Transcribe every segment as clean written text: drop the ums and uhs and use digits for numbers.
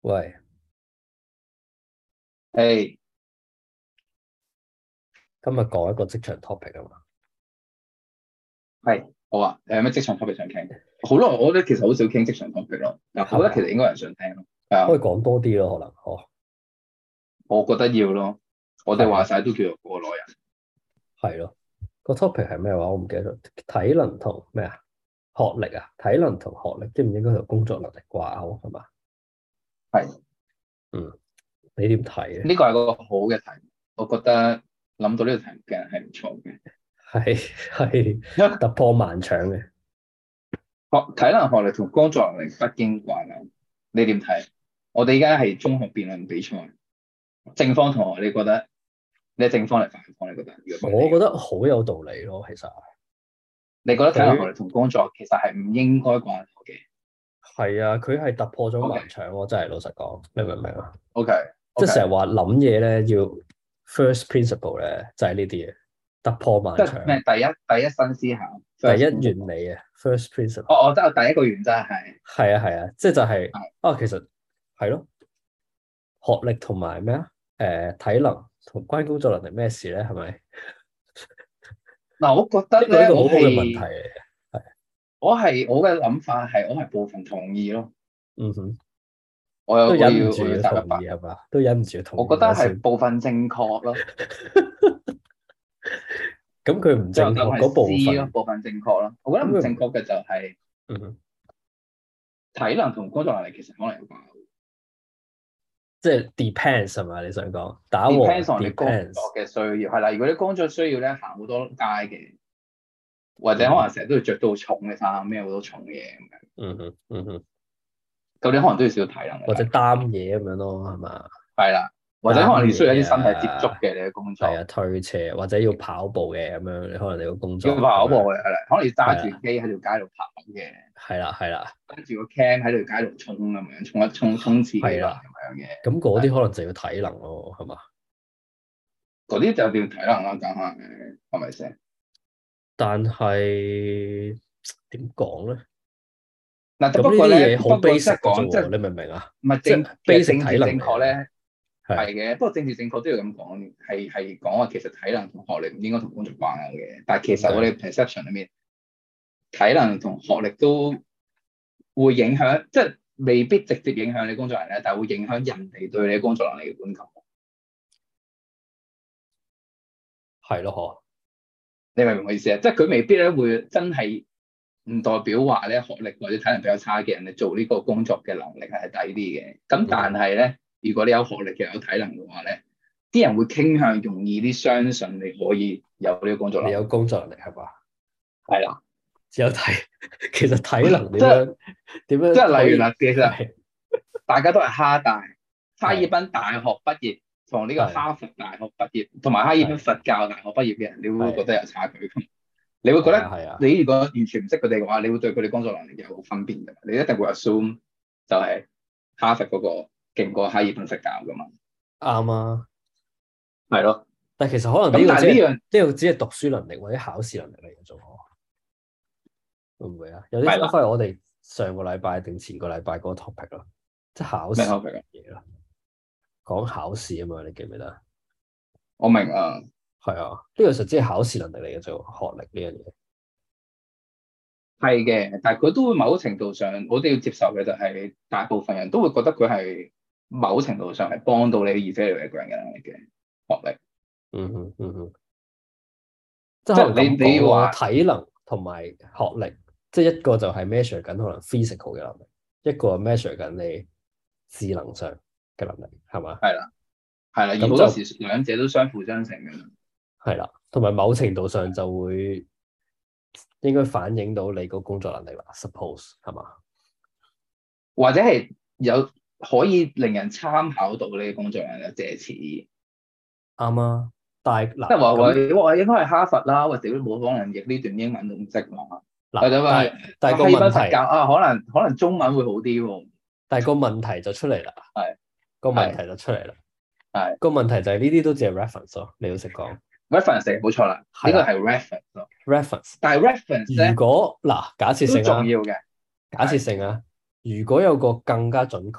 喂， 誒， 今日講一個職場 topic 啊嘛， 係，好啊，有咩職場 topic 想傾？好耐，我覺得其實好少傾職場 topic 咯，但我覺得其實係嘛？ 應該有人想聽咯。係啊， 可以講多啲咯，可能， 我覺得要咯。我哋話係咯， 晒都叫做過來人。 係咯。個 topic 係咩話？我唔記得咗。體能同咩啊？學歷啊？體能同學歷應唔應該同工作能力掛鈎係嘛？ 係， 嗯，你點睇咧？ 呢個係個好嘅題目，我覺得諗到呢個題目嘅人係唔錯嘅。 係因為突破盲腸嘅。 體能、學歷同工作能力不經掛鈎，你點睇？我哋而家係中學辯論比賽，正方同學，你覺得你係正方定反方？你覺得？如果問你嘅話， 我覺得好有道理咯，其實你覺得體能、學佢歷同工作其實係唔應該掛鈎嘅係啊，佢係突破咗盲 ？OK， 腸喎，真係老實講，你明唔明啊？ OK， 即係 OK。 成日話諗嘢咧，要 first principle 咧，就係呢啲嘢，突破盲即係咩？ 腸。 第一新思考第一 ，first 原 principle。 理啊，first principle， 即係我第一個原則係係啊，即係就係、 係啊，其實係咯，學歷同埋咩啊，體能同關工作能力咩事咧？係咪？ 嗱，我覺得呢個呢咧，我個好好嘅問題係嚟嘅，係， 我嘅諗法係我係部分同意咯。 嗯哼， 我有都我要我要忍唔住要答一百， 同意係嘛？都忍唔住要同我覺得係意咗先。 部分正確咯， 咁佢唔最後答案係正確嗰部 C 咯， 分， 部分正確咯。我覺得唔咁佢唔， 正確嘅就係嗯哼， 體能同工作能力其實可能有關即係 depends 係嘛？你想講打和 ，depends on 你工 depends， 作嘅需要係啦。如果你工作需要咧行好多街嘅，或者可能嗯哼， 成日都要着到好重嘅衫，孭好多重嘢咁樣， 嗯哼，嗯哼， 咁你可能都要少少體能嘅。 或者擔嘢咁樣咯，係嘛？ 係啦，或者可能你需要一擔嘢啲身體接觸啊， 嘅你嘅工作， 係啊，推車或者要跑步嘅咁樣，你可能你個工要作咁樣， 跑步嘅，係啦，可能要揸住機係啦， 喺條街度跑嘅， 係啦， 揸住個 can 喺條街度衝咁樣，衝刺幾輪咁係啦， 樣嘅， 咁嗰啲係可能就要體能咯，係嘛？ 嗰啲就要體能啦，梗係係咪先？ 但係點講咧？ 嗱， 咁呢啲不過咧， 嘢好不過即 basic 係嘅啫喎， 講即係你明唔明啊？ 唔係即係其實 basic 政治正體能嚟嘅， 確咧係係嘅，不過政治正確都要咁講，係講話其實體能同學歷唔應該同工作掛鈎嘅，但係其實我哋點解？ perception 裏面體能同學歷都會影響，即係未必直接影響你工作能力，但係會影響人哋對你工作能力嘅觀感。 係咯， 你明唔明我意思啊？即係佢未必咧會真係唔代表話咧學歷或者體能比較差嘅人，你做呢個工作嘅能力係低啲嘅。咁嗬， 但係咧，如果你有學歷又有體能嘅話咧，啲人會傾向容易啲相信你可以有呢個工作你有能力。 工作能力係嘛？ 係啦， 只有體，其實體能點即係樣點即係樣可以例如啦，其實係大家都係哈大、哈爾係濱大學畢業，同呢個係哈佛大學畢業，同埋哈爾濱係佛教大學畢業嘅人，你會覺係得有差距。你會覺得係啊， 你如果完全唔識佢哋嘅話，你會對佢哋工作能力有分別嘅。你一定會 assume 就係哈佛嗰個勁過哈爾濱佛教噶嘛。 啱啊。 係咯。 但其實可能咁呢個只係但係呢樣讀書能力或者考試能力嚟嘅啫，會唔會啊？有啲係啦， 翻嚟我哋上個禮拜定前個禮拜嗰個 topic 咯，即係考試咩 topic 啊？ 嘢咯，講考試啊嘛，你記唔記得？ 我明啊， 係啊，呢個實只係考試能力嚟嘅啫，學歷呢樣嘢。 係嘅，但係佢都會某程度上，我哋要接受嘅就係大部分人都會覺得佢係某程度上係幫到你 evaluate 一個人嘅能力嘅學歷。 嗯哼，即係即可能咁係你講咯， 要話體能同埋學歷，即係一個就係 measure 緊可能 physical 嘅能力，一個係 measure 緊你智能上嘅能力，係嘛？ 係啦，係啦，而好多咁就時兩者都相輔相成嘅。 係啦，同埋某程度上就會應該反映到你個工作能力啦，suppose 係嘛？ 或者係有可以令人參考到呢個工作人嘅借詞， 啱啊，但係即係話咁我應該係哈佛啦，或者都冇可能譯呢段英文都唔識嘛，或嗱， 者話但係個哈爾濱佛教問題， 啊，可能中文會好啲喎， 但係個問題就出嚟啦， 係個問係題就出嚟啦， 係個問題就係呢啲都只係 reference 咯，你要識講 reference 冇錯啦， 係啦呢個係 reference 咯， ，reference。 但係 reference 如咧果嗱，假設都性啊， 重要嘅， 假設係性啊，如果有個更加準確，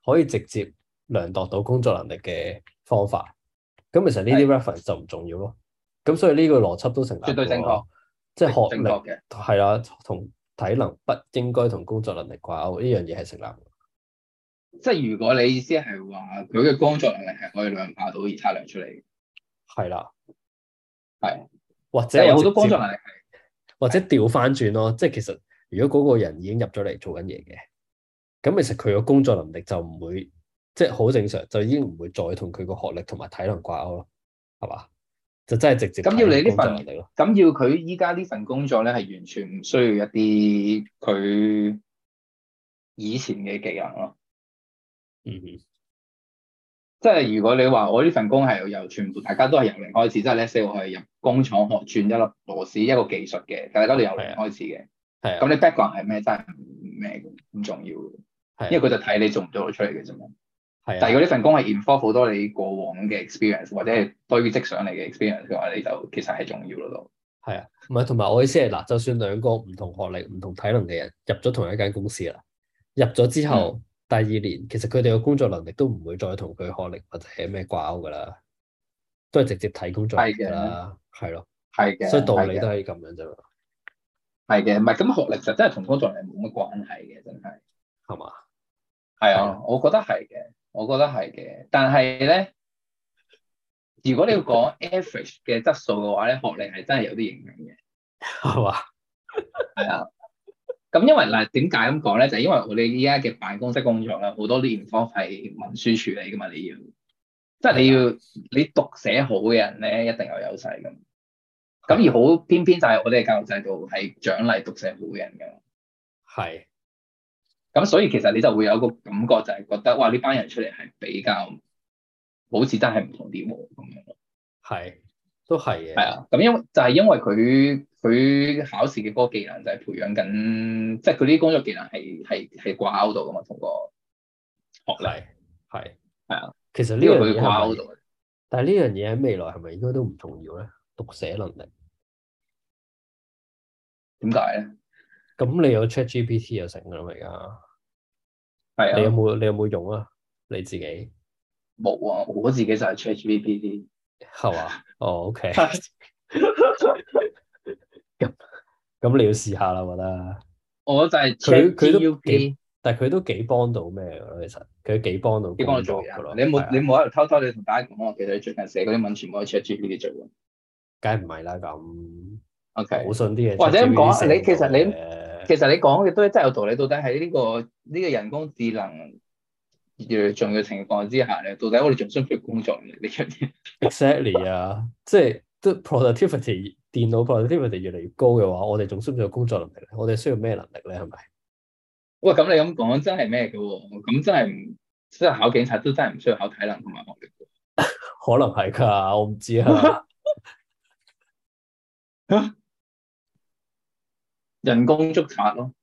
可以直接量度到工作能力嘅方法。咁其實呢啲 reference 就唔重要咯。咁所以呢個邏輯都成立絕對正確喎，即係學歷正確嘅。 係啦，同體能不應該同工作能力掛鈎，呢樣嘢係成立嘅。 即係如果你意思係話佢嘅工作能力係可以量化到而測量出嚟嘅， 係啦， 係。 或者即係有好多我直接工作能力係或者調翻轉咯，即係其實如果嗰個人已經入咗嚟做緊嘢嘅，咁其實佢個工作能力就唔會即係好正常，就已經唔會再同佢個學歷同埋體能掛鈎咯，係嘛？就真係直接咁要你呢睇工作份， 能力咯。 咁要佢依家呢份工作咧係完全唔需要一啲佢以前嘅技能咯。 嗯哼， 即係如果你話我呢份工係由全部大家都係由零開始，即係 let's say 我係入工廠學轉一粒螺絲一個技術嘅，大家都由零開始嘅。 係啊， 咁你 background 係咩真係唔咩嘅，唔重要嘅，因為係啊， 佢就睇你做唔做到出嚟嘅啫嘛。 係啊， 但係如果呢份工係 involve 好多你過往嘅 experience 或者係堆積上嚟嘅 experience 嘅話，你就其實係重要咯都。 係啊，唔係同埋我意思係嗱，就算兩個唔同學歷、唔同體能嘅人入咗同一間公司啦，入咗之後第二年，其實佢哋嘅工作能力都唔會再同佢學歷或者係咩掛鈎噶啦，都係直接睇工作能力噶係嘅， 啦，係咯， 係嘅， 所以道係嘅， 理都係咁樣啫嘛， 係嘅，唔係咁學歷就真係同工作能力冇乜關係嘅，真係。 係嘛？ 係係啊， 啊，我覺得係嘅，我覺得係嘅。但係咧，如果你要講 average 嘅質素嘅話咧，學歷係真係有啲影響嘅。 係嘛？ 係啊，咁因為嗱，點解咁講咧？就係因為我哋依家嘅辦公室工作咧，好多啲地方係文書處理噶嘛，你要，即係你係啊， 要你讀寫好嘅人咧，一定有優勢噶嘛。咁係啊， 而好偏偏就係我哋嘅教育制度係獎勵讀寫好嘅人㗎嘛。 係， 咁所以其實你就會有個感覺，就係覺得哇，呢班人出嚟係比較好似真係唔同啲喎咁樣咯。 係，都係嘅， 係啊，咁因為佢考試嘅嗰個技能就係培養緊，即係佢啲工作技能係掛鈎到㗎嘛，同個學歷。 係，係。 係啊， 其實呢呢個佢樣嘢係咪？ 掛鈎到。 但係呢樣嘢喺未來係咪應該都唔重要咧？讀寫能力， 點解咧？ 咁你有 ChatGPT 就成㗎啦嘛而家。你有係啊， 冇你有冇用啊？你自己冇啊，我自己就係 ChatGPT。 係嘛？哦，OK，咁咁你要試下啦，我覺得我就係佢都幾， ChatGPT。 但係佢都幾幫到咩㗎咯？其實佢幾幫到你幫我工做嘢啊？ 作㗎咯， 你有冇你係啊， 冇喺度偷偷地同大家講啊？其實你最近寫嗰啲文全部喺 ChatGPT 做嘅。 梗係唔係啦咁。好 OK， 信啲嘢或者咁 ChatGPT 講， 寫唔到嘅， 其實你講嘅都真係有道理。到底喺呢個人工智能越嚟越重要嘅情況之下咧，到底我哋仲需唔需要工作能力呢樣嘢？ exactly 啊，即係都 productivity 電腦 productivity 越嚟越高嘅話，我哋仲需唔需要工作能力咧？我哋需要咩能力咧？係咪？ 喂，咁你咁講真係咩嘅喎？咁真係唔即係考警察都真係唔需要考體能同埋學歷可能係㗎，我唔知啊。 嘅。人工觸發咯，